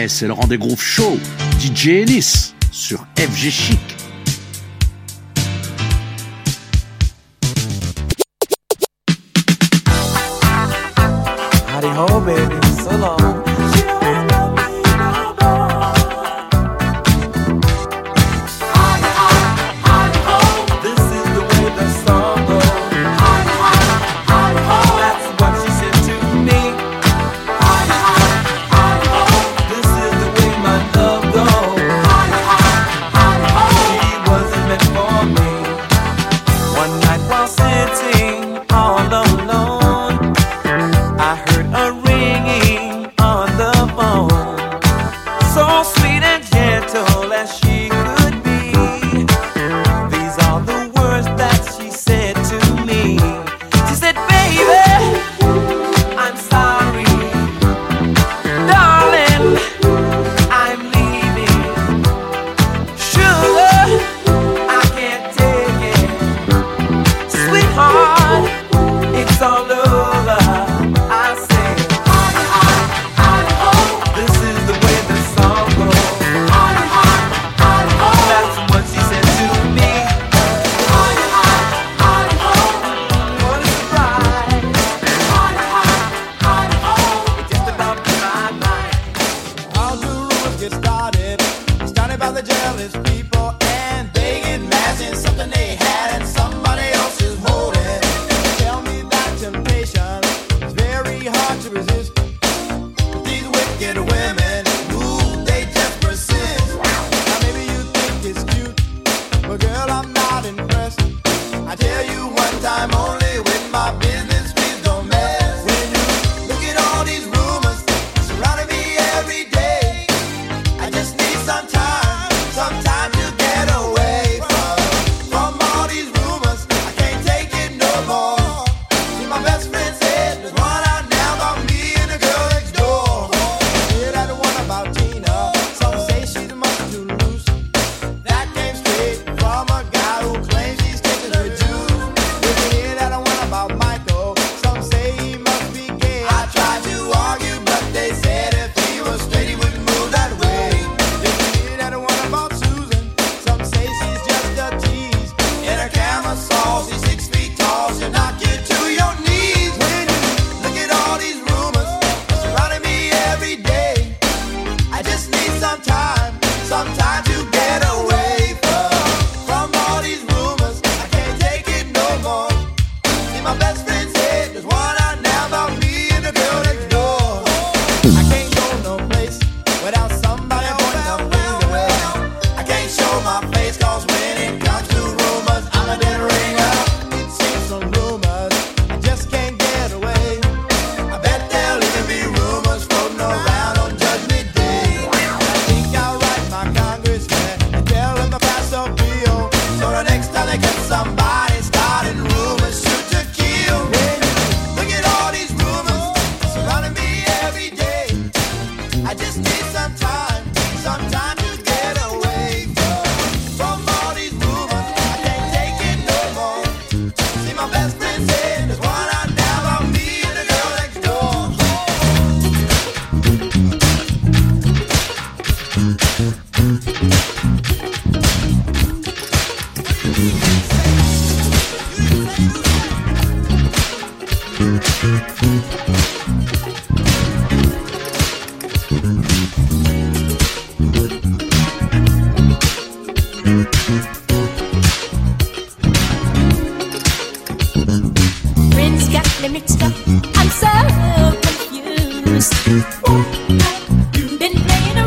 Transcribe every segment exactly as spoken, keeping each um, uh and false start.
Yeah, c'est le rendez-vous show D J Ellis sur F G Chic. Howdy ho, baby, so long.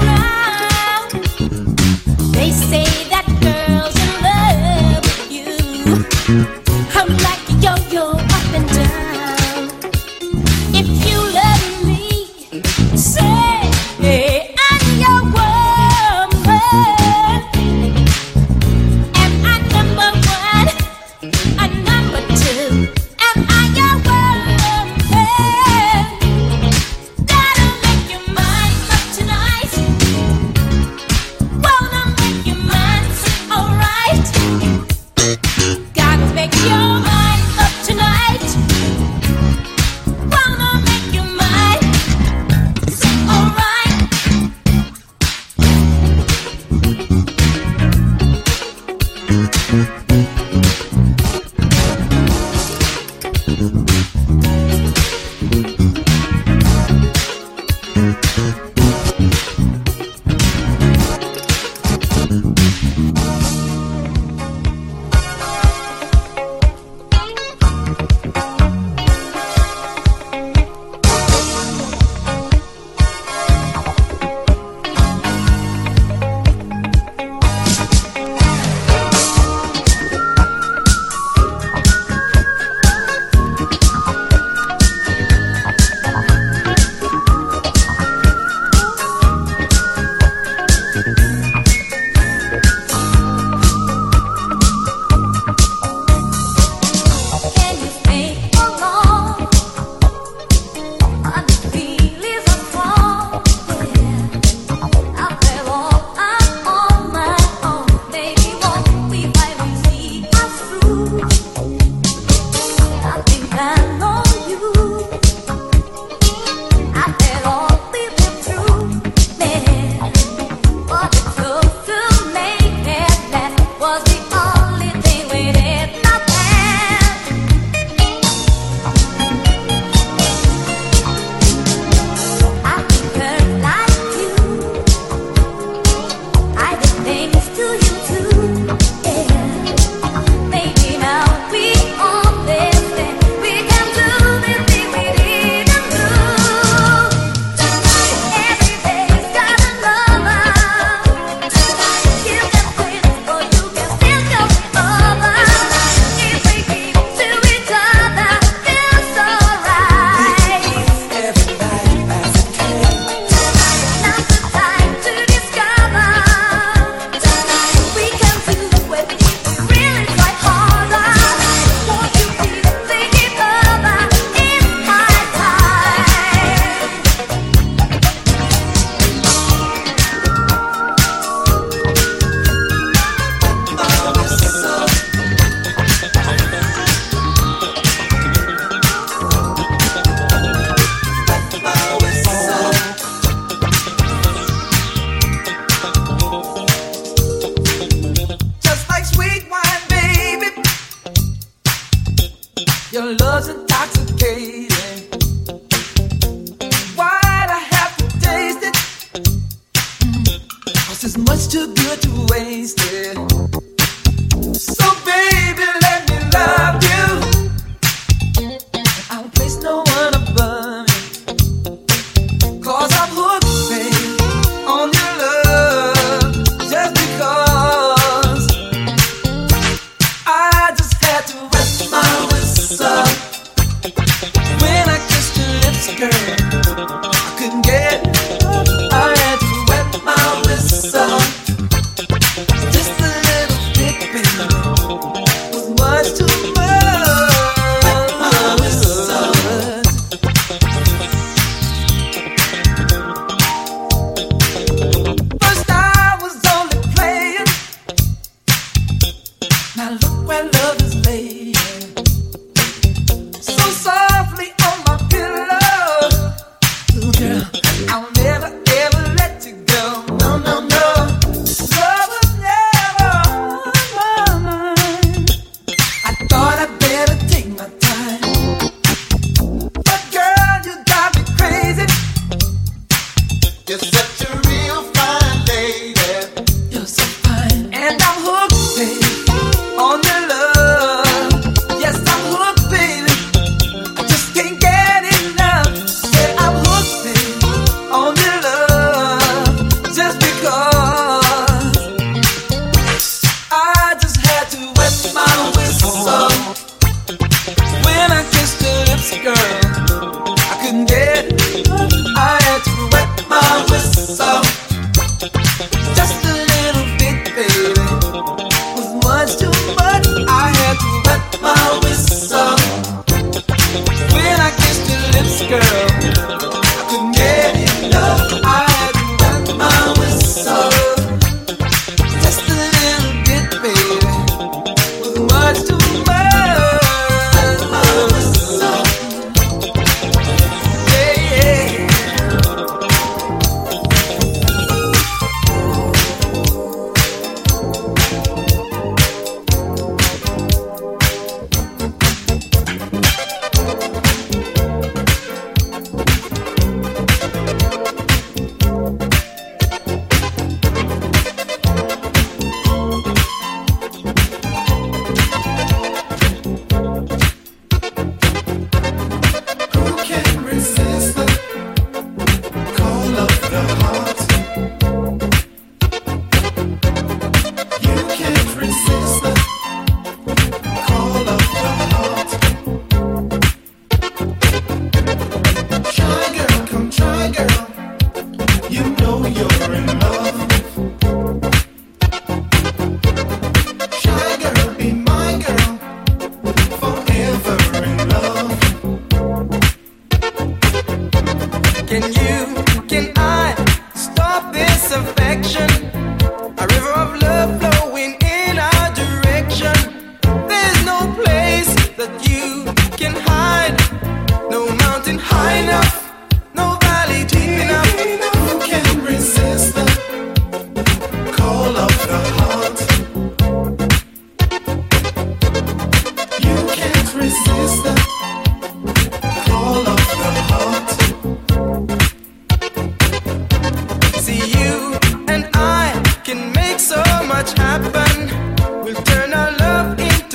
They say that girls in love with you. And I'm hooked, baby, on your love.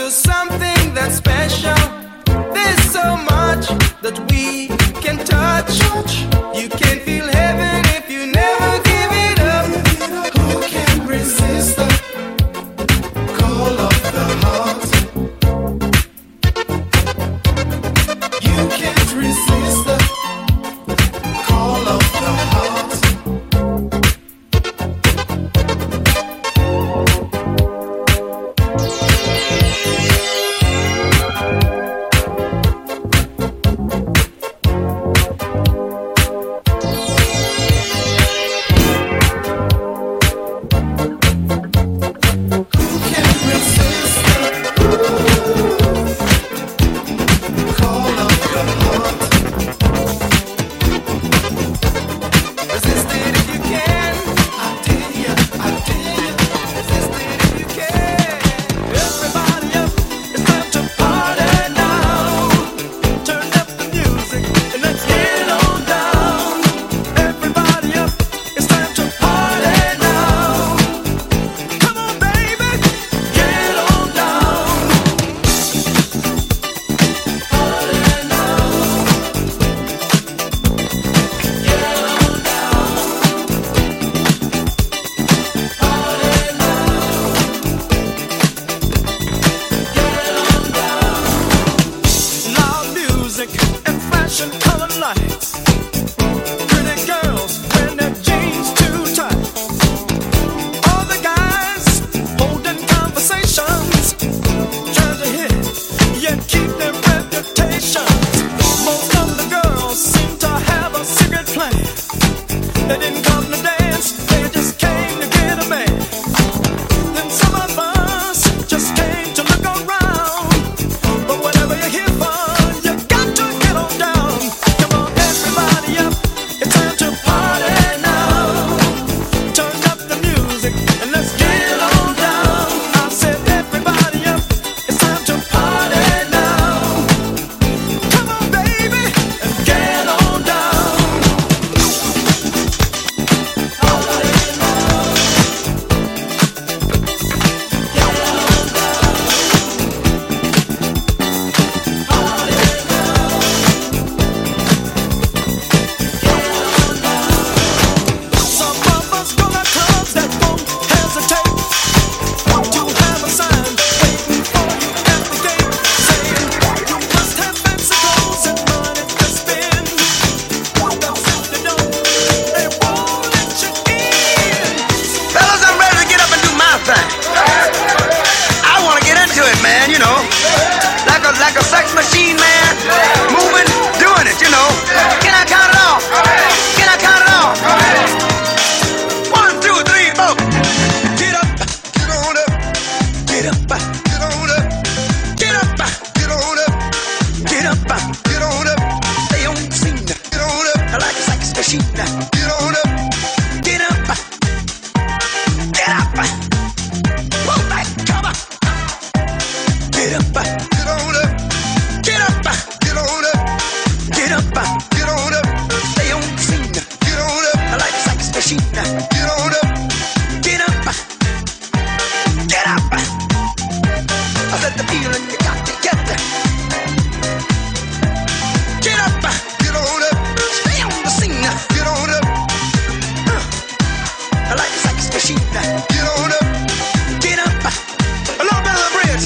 to something that's special. There's so much that we can touch. You can feel heaven if you never give it up. Who can resist the call of the heart? You can't resist the call of the heart.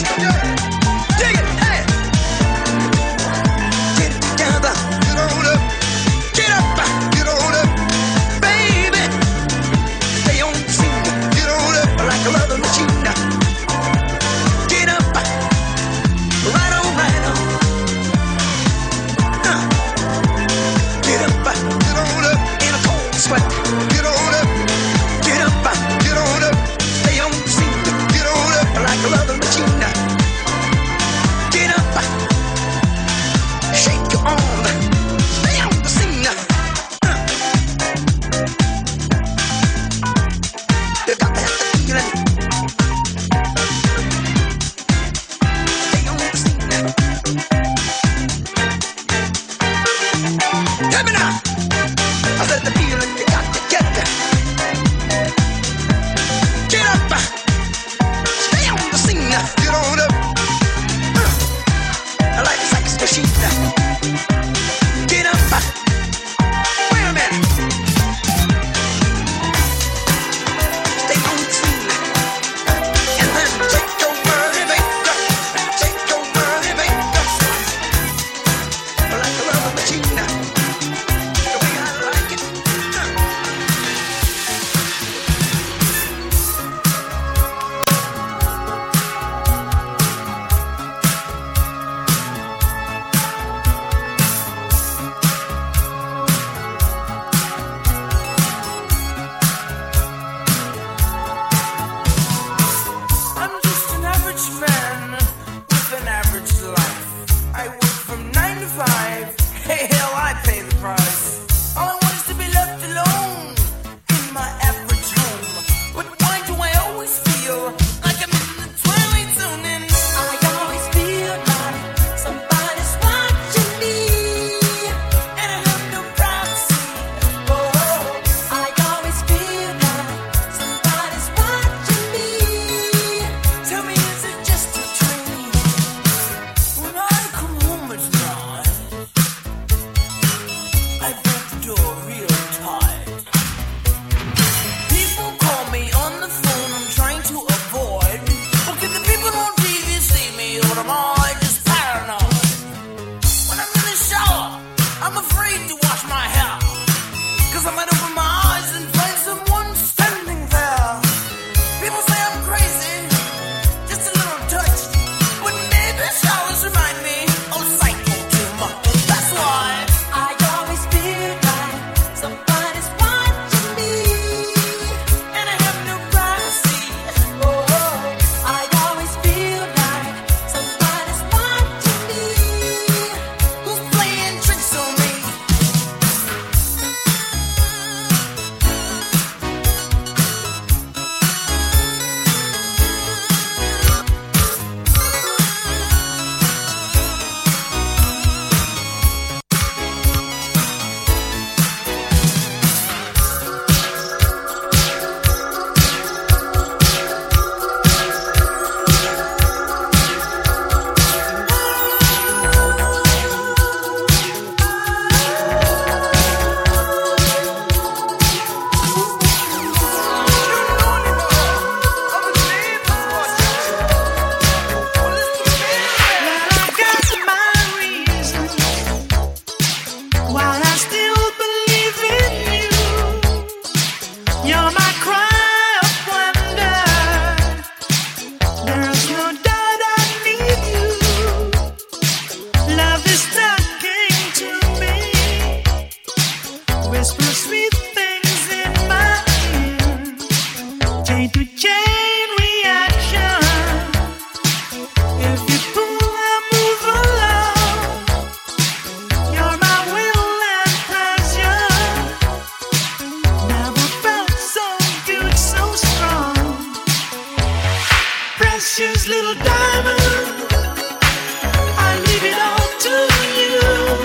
Dig it, hey! Get it together, get on up. machine. Get up. Wait a minute. Stay on tune. And then take your money, maker. Take your money, maker. Like a rubber machine. The way I like it. I'm just an average man with an average life. I work from nine to five. Hey, hell, I pay the price. All I want is to be left alone in my average home. But why do I always feel like I'm in the twilight zone? And I always feel like somebody's watching me, and I have no privacy. Oh, I always feel like somebody's watching me. Tell me, is it just a dream? When I come home at night, I break the door real tight. People call me on the phone, I'm trying to avoid. But can the people on T V see me, or am I just paranoid? When I'm in the shower, I'm afraid to wash my hair, 'cause I might open my eyes and find someone standing there. People say I'm crazy, just a little touched, but maybe showers remind me of psycho too much. That's why I always feel like somebody's watching me, and I have no privacy. Oh, I always feel like somebody's watching me. Who's playing tricks on me? Precious little diamond, I leave it all to you.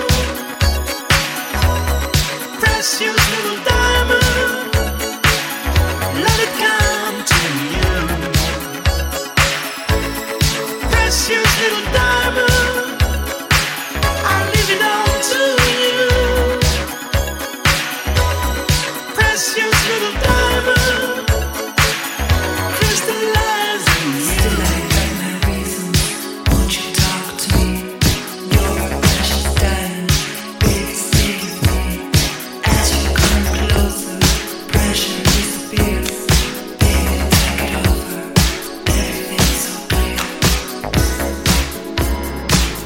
Precious little diamond, let it come to you. Precious little diamond, I leave it all to you. Precious little diamond, crystallize in you. Won't you talk to me? You're a precious diamond, baby, stay with me. As you come closer, pressure disappears. Baby, take it over, everything's so clear.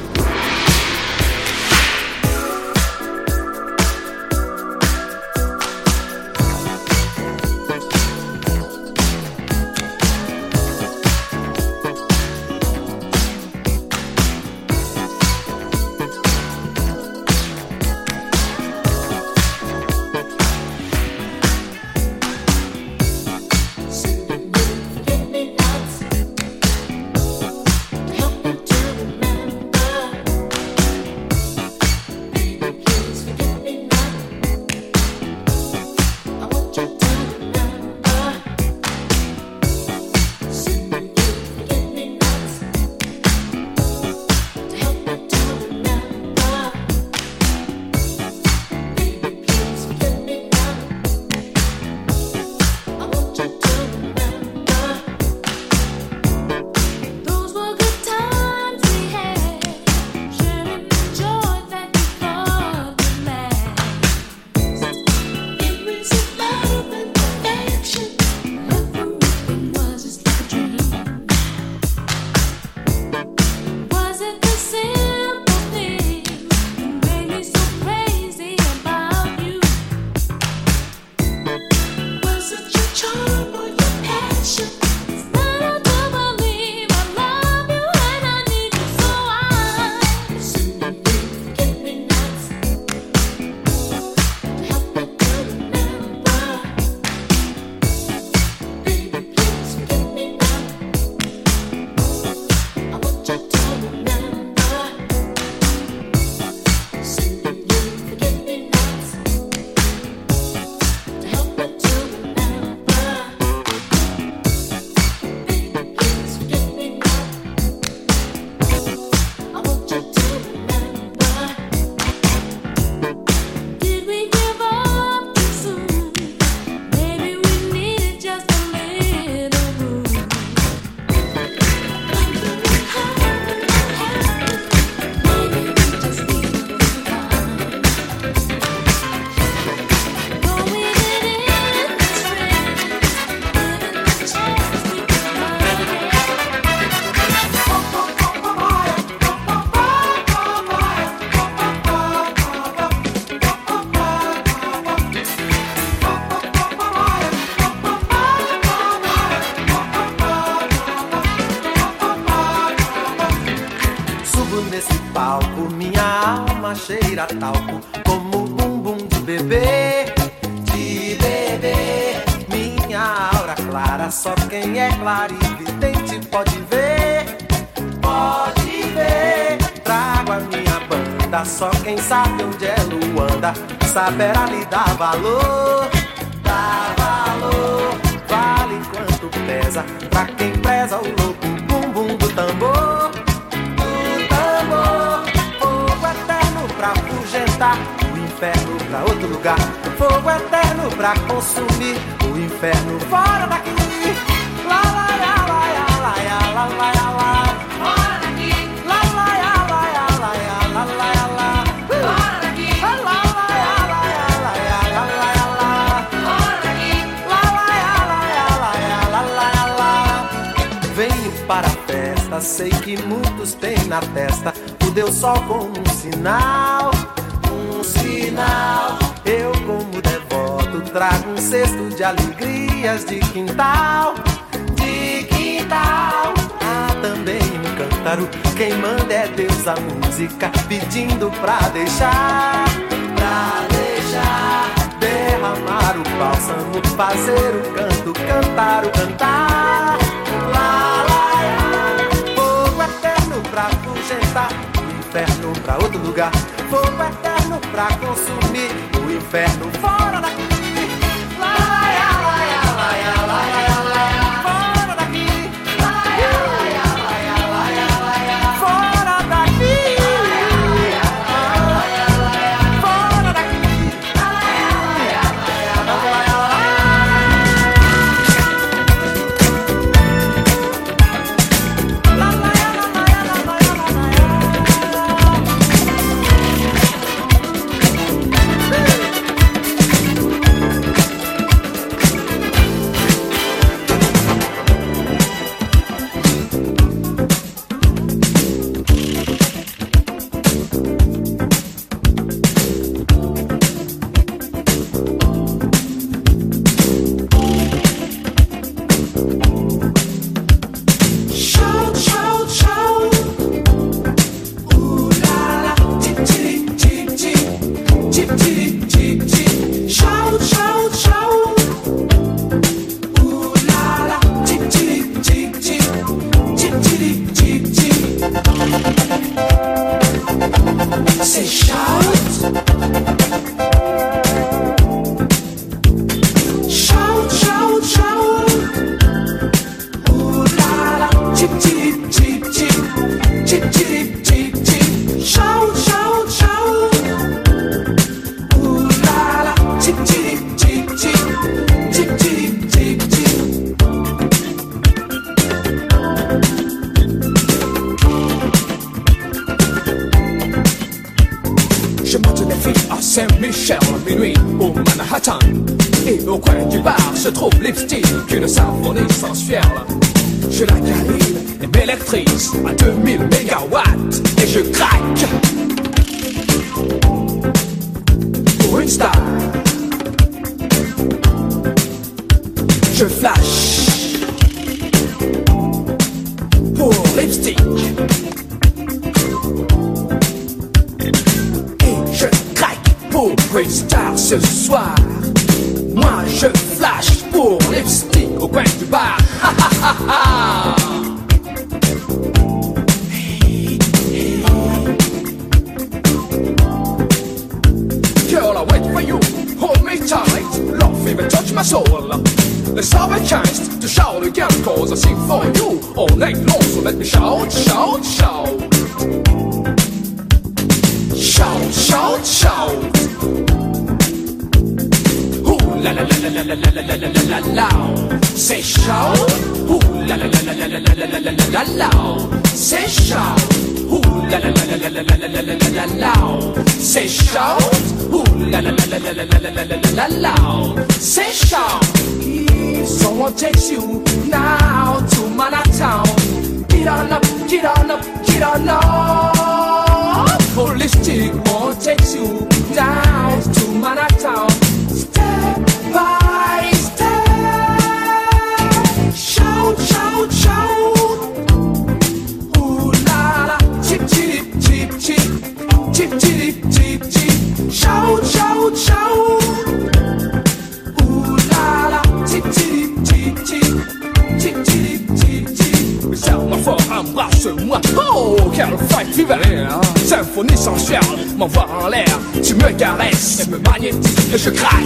subo nesse palco, minha alma cheira talco, como bumbum de bebê, de bebê. Minha aura clara, só quem é clarividente pode ver, pode ver. Trago a minha banda, só quem sabe onde é Luanda saberá lhe dar valor, dar valor. Vale quanto pesa, pra quem preza o louco bumbum do tambor, do tambor. Fogo eterno pra afugentar, o inferno pra outro lugar. Fogo eterno pra consumir, o inferno fora daqui. Lá, lá, lá, lá, lá, lá, lá, lá, lá. Fora daqui. Lá, lá, lá, lá, lá, lá, lá, lá, lá. Fora daqui. Lá, lá, lá, lá, lá, lá, lá, lá. Fora daqui. Lá, lá, lá, lá, lá, lá, lá. Venho para a festa, sei que muitos têm na testa o Deus Sol como um sinal, um sinal. Eu como devoto trago um cesto de alegrias de quintal, de quintal. Há também um cântaro, quem manda é Deus a música, pedindo pra deixar, pra deixar derramar o bálsamo, fazer o canto, cantar o cantar. Lá, lá, lá. Fogo eterno pra afugentar, o inferno pra outro lugar. Fogo eterno pra consumir, o inferno fora daqui. Lá, lá, lá, lá, lá, lá, lá. Fora daqui. Lá, lá, lá, lá, lá, lá. Fora daqui. Fora daqui. Saint-Michel, minuit au Manhattan. Et au coin du bar se trouve Lipstick, une symphonie sans fiel. Je la câline et m'électrise à deux mille mégawatts. Et je craque pour une star. Je flash pour Lipstick. Pour une star ce soir, moi je flash pour Lipstick au coin du bar. Ha ha ha ha. Girl, I wait for you, hold me tight, love even touch my soul. Let's have a chance to shout again, cause I sing for you all night long. So let me shout, shout, shout. Shout, shout, shout. Ooh la la la la la la la la la la la. Say shout. Ooh la la la la la la la la la la la. Say shout. Ooh la la la la la la la la la la la. Say shout. Ooh la la la la la la la la la la la. Say shout. If someone takes you now to Manhattan, get on up, get on up, get on up. Holistic one takes you down to Manhattan, step by step. Shout, shout, shout. Ooh la la, chip chip Oh, quelle fête d'hiver, symphonie sensuelle, m'envoie en l'air. Tu me caresses et me magnétises et je craque.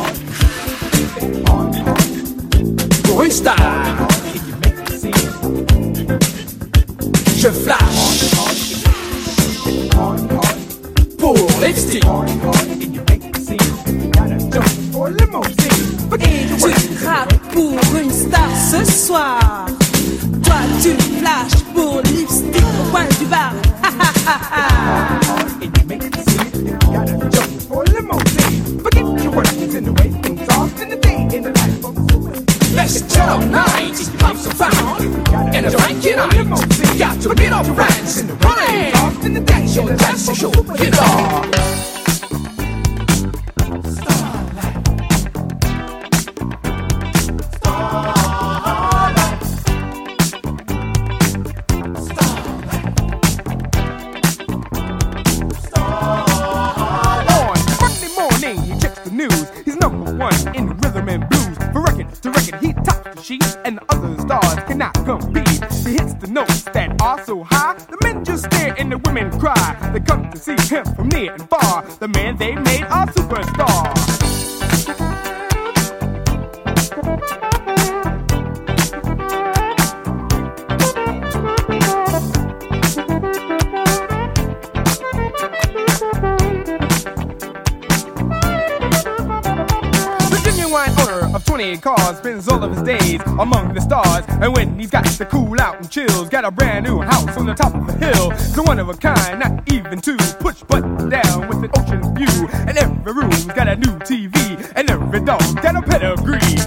Pour une star, je flash. Pour lipstick, et tu craques pour une star ce soir. Toi tu flashes pour lipstick au coin du bar. Ha ha ha ha. let's turn up night, have some fun, and a drinking night. Got to meet our friends in the running, dance your dance show, you know. And the other stars cannot compete. He hits the notes that are so high, the men just stare and the women cry. They come to see him from near and far. The man they made a superstar. twenty cars, spends all of his days among the stars. And when he's got to cool out and chills, got a brand new house on the top of a hill. It's a one of a kind, not even two. Push button down with an ocean view. And every room's got a new T V. And every dog's got a pedigree.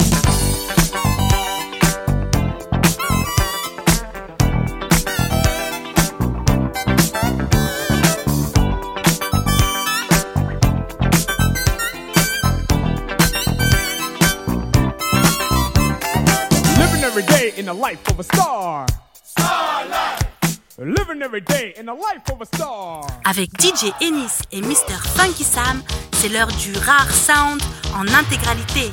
Every day in the life of a star. Star life. Living every day in the life of a star. Avec D J Ennis et mister Funky Sam, c'est l'heure du rare sound en intégralité.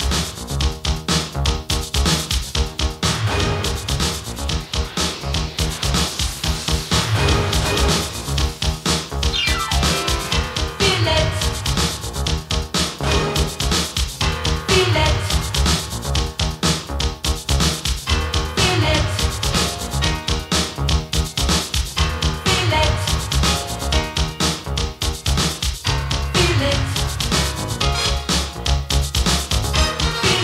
Feel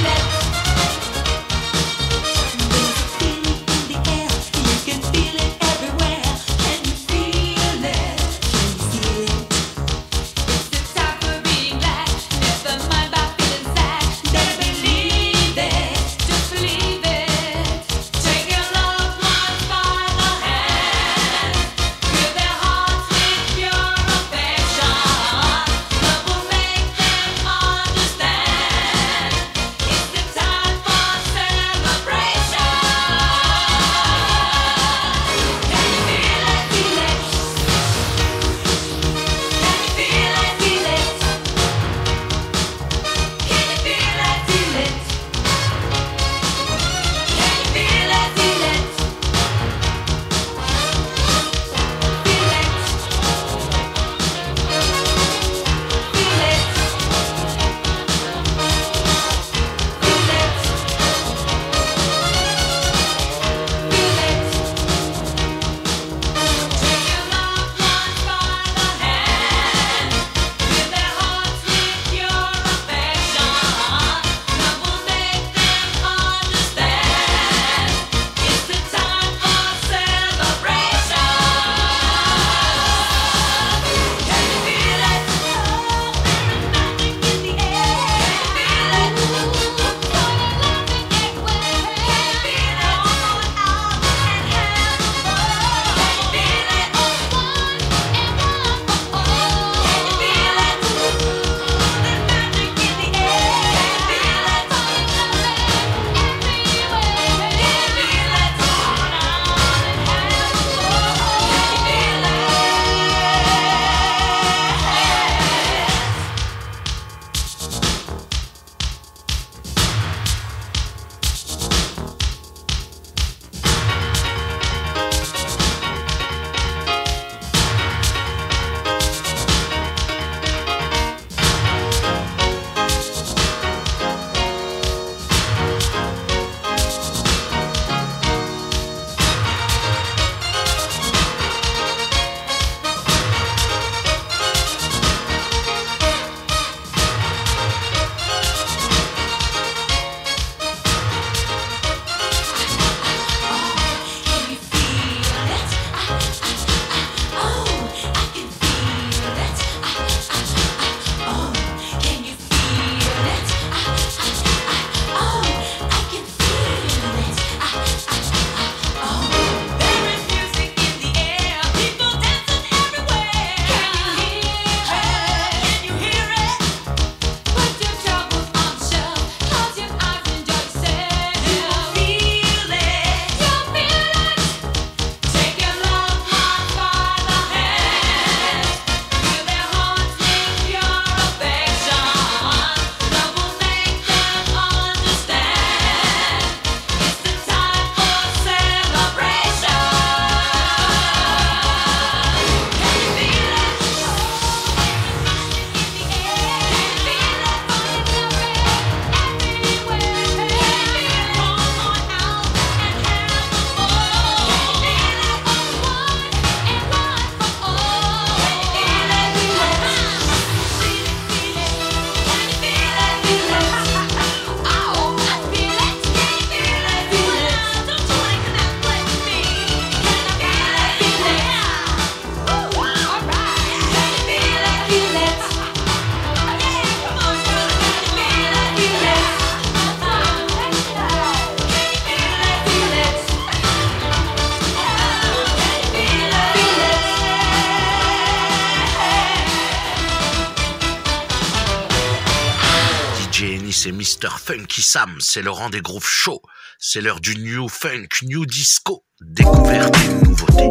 c'est mister Funky Sam, c'est le rang des grooves chauds. C'est l'heure du new funk, new disco. Découverte et nouveauté.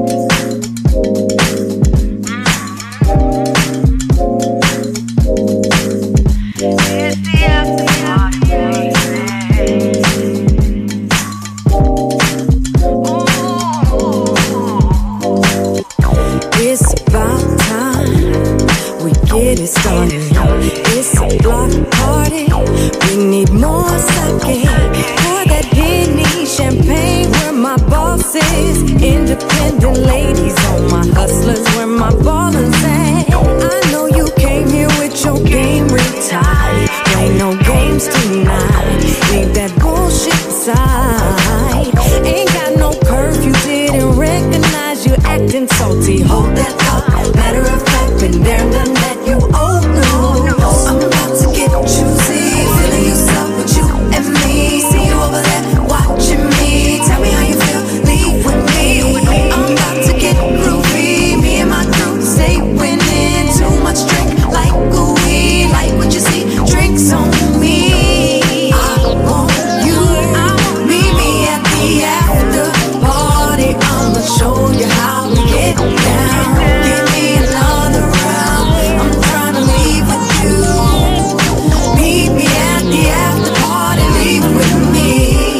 It's about time we get it started. It's a block party. We need more sake. Pour that Henny champagne where my boss is. Independent ladies on my hustlers where my ballers at. I know you came here with your game retired. Play no games tonight. Leave that bullshit aside. Ain't got no curfew, didn't recognize you acting salty. Hold that thought. Matter of fact, been there, done that. You owe no. I'm about to get juicy. Feeling yourself with you and me. See you over there watching me. Tell me how you feel. Leave with me. I'm about to get groovy. Me and my crew stay winning. Too much drink like gooey. Like what you see. Drinks on me. I want you. Meet me at the after party. I'ma show you how we get down. Give me another round. I'm trying to leave with you. Meet me at the after party. Leave with me.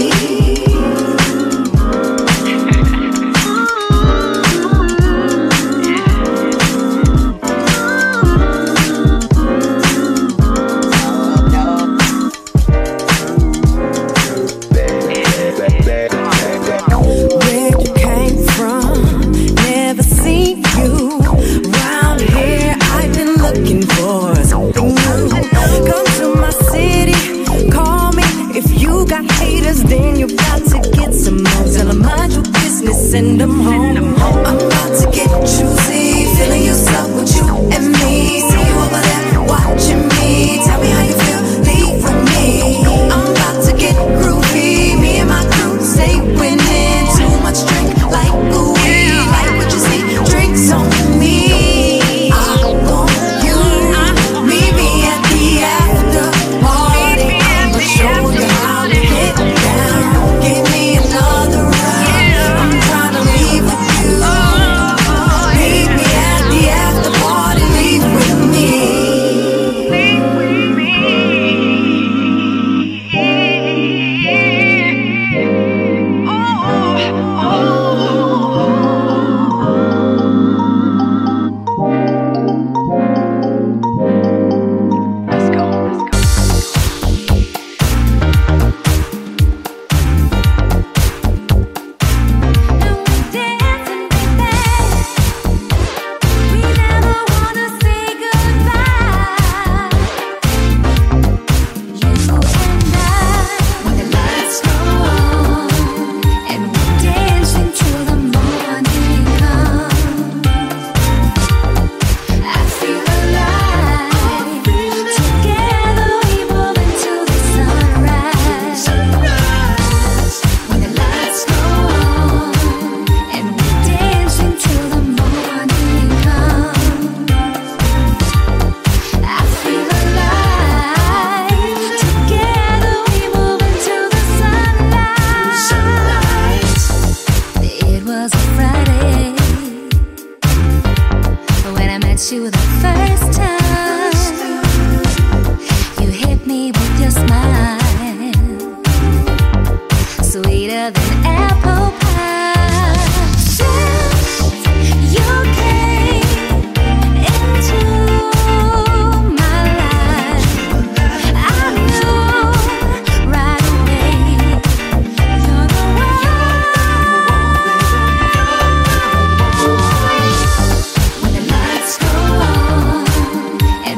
Where you came from, never seen you. Round here, I've been looking for something new. Come to my city, call me. If you got haters, then you got to get some more. Tell them mind your business, send them home. I'm about to get juicy, feeling yourself with you and me. See you over there watching me. Tell me how you feel, leave with me. I'm about to get groovy, me and my crew stay winning. Too much drink like gooey, like what you see. Drinks on me. I want you. Meet me at the after party. I'ma show you how to get down. Give me another round. I'm trying to leave with you. Meet me at the after party. Leave with me. Leave with me. You the first time you hit me with your smile, sweeter than apple pie. Since you came into my life, I knew right away you're the one. When the lights go on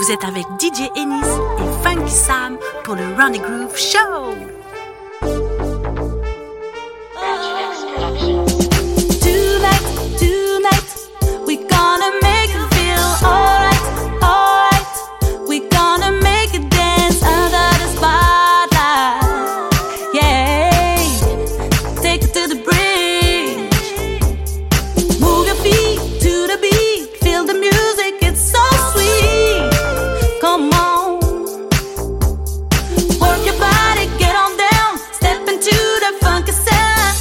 Vous êtes avec D J Ennis et Funky Sam pour le Round the Groove Show. Tonight, tonight, we gonna make you feel alright, alright. We gonna make you dance under the spotlight. Yeah, take it to the bridge. Move your feet to the beat. Feel the music, it's so sweet. Come on, work your body, get on down. Step into the funky sound.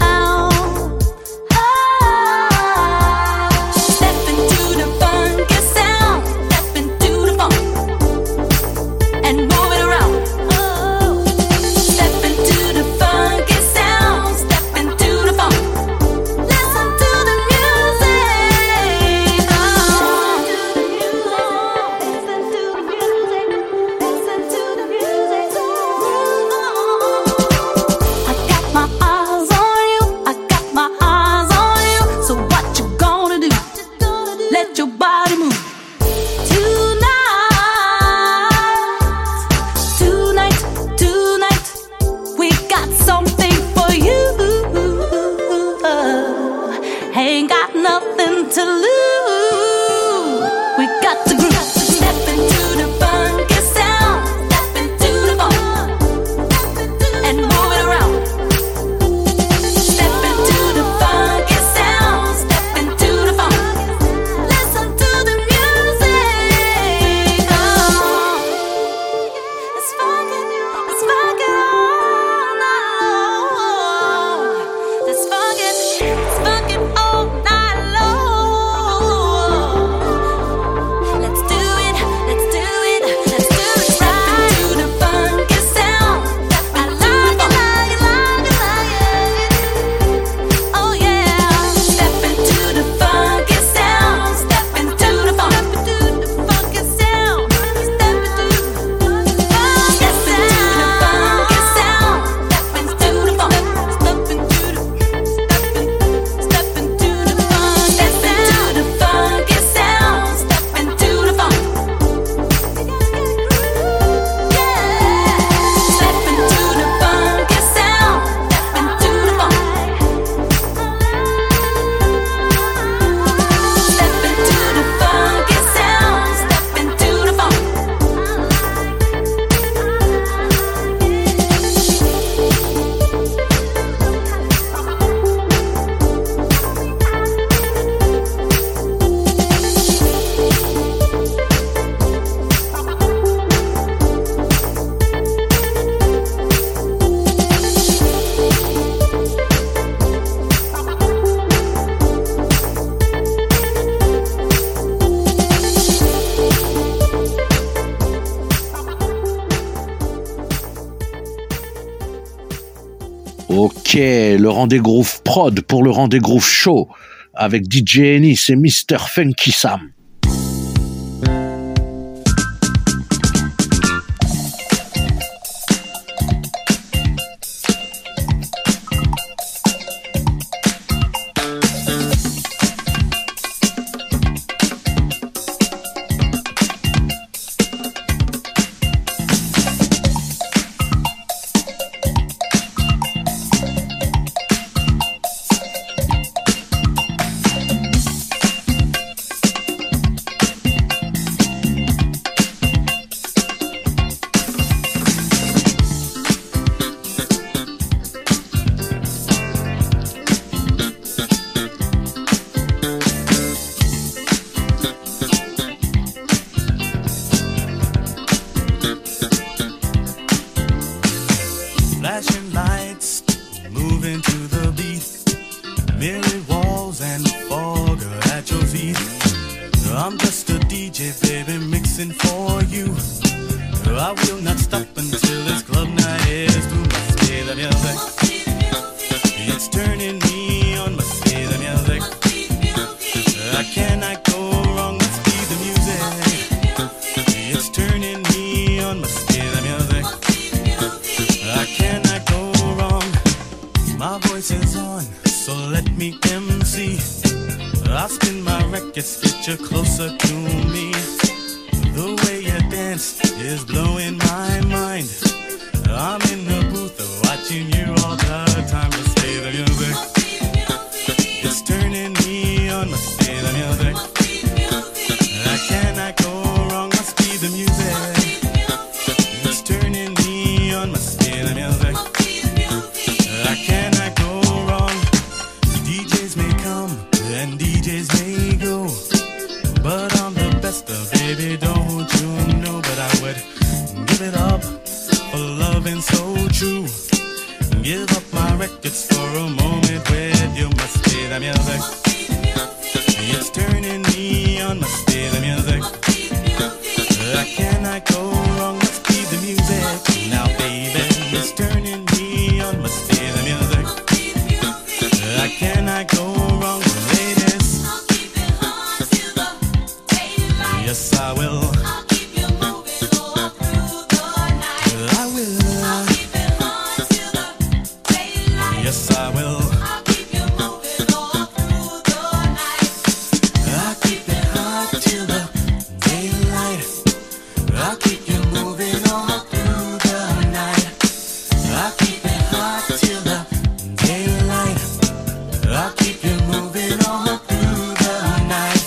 Ok, le Rendez Groove Prod pour le Rendez Groove Show avec D J Ennis et mister Funky Sam. I spin my records, get you closer to me. The way you dance is blowing my mind. I'm in the booth watching you all the time. Let's play the music. It's turning me on. Let's play the music. I cannot go wrong. Must be the music. It's turning me on. Must be the music. I cannot go wrong. D Js may come and D Js may go, but I'm the best of, baby, don't you know? But I would give it up for loving so true. Give up my records for a moment with you. Must be the music. It's turning me on. Must be the music. I cannot go wrong. Must be the music. Now, baby, it's turning me on. Must be the music. I cannot go wrong, ladies. Yes, I will. I will. Yes, I will. I'll keep it hot till the daylight. I'll keep you moving all through the night. I'll keep it hot till the daylight. I'll keep you moving all through the night.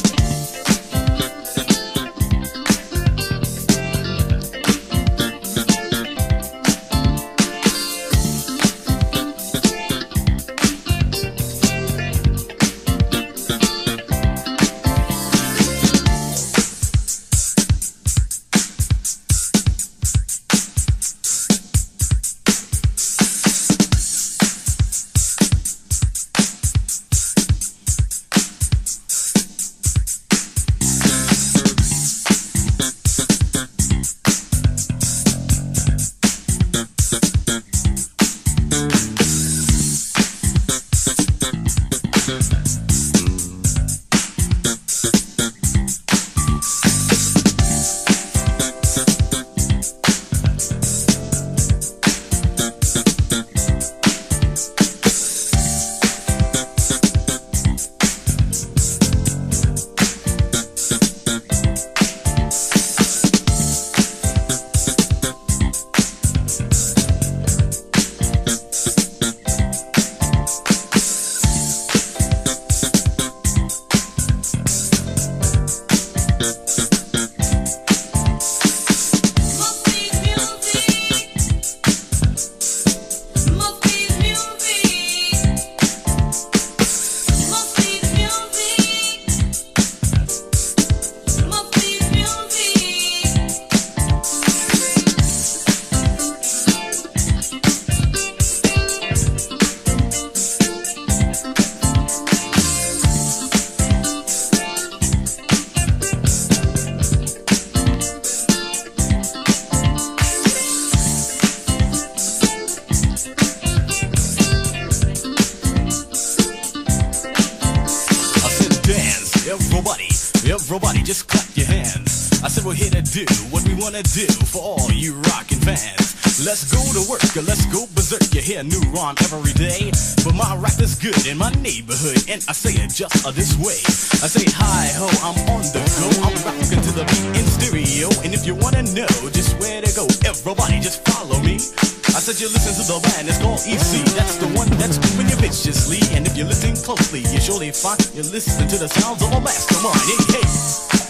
Everybody just clap your hands. I said we're here to do what we wanna do for all you rockin' fans. Let's go to work, or let's go berserk. You hear a new rhyme every day, but my rap is good in my neighborhood, and I say it just uh, this way. I say hi ho, I'm on the go. I'm rockin' to the beat in stereo, and if you wanna know just where to go, everybody just follow me. I said you listen to the band, it's called E C. That's the one that's doing you viciously. And if you listen closely, you surely find you're listening to the sounds of a mastermind. Hey, hey.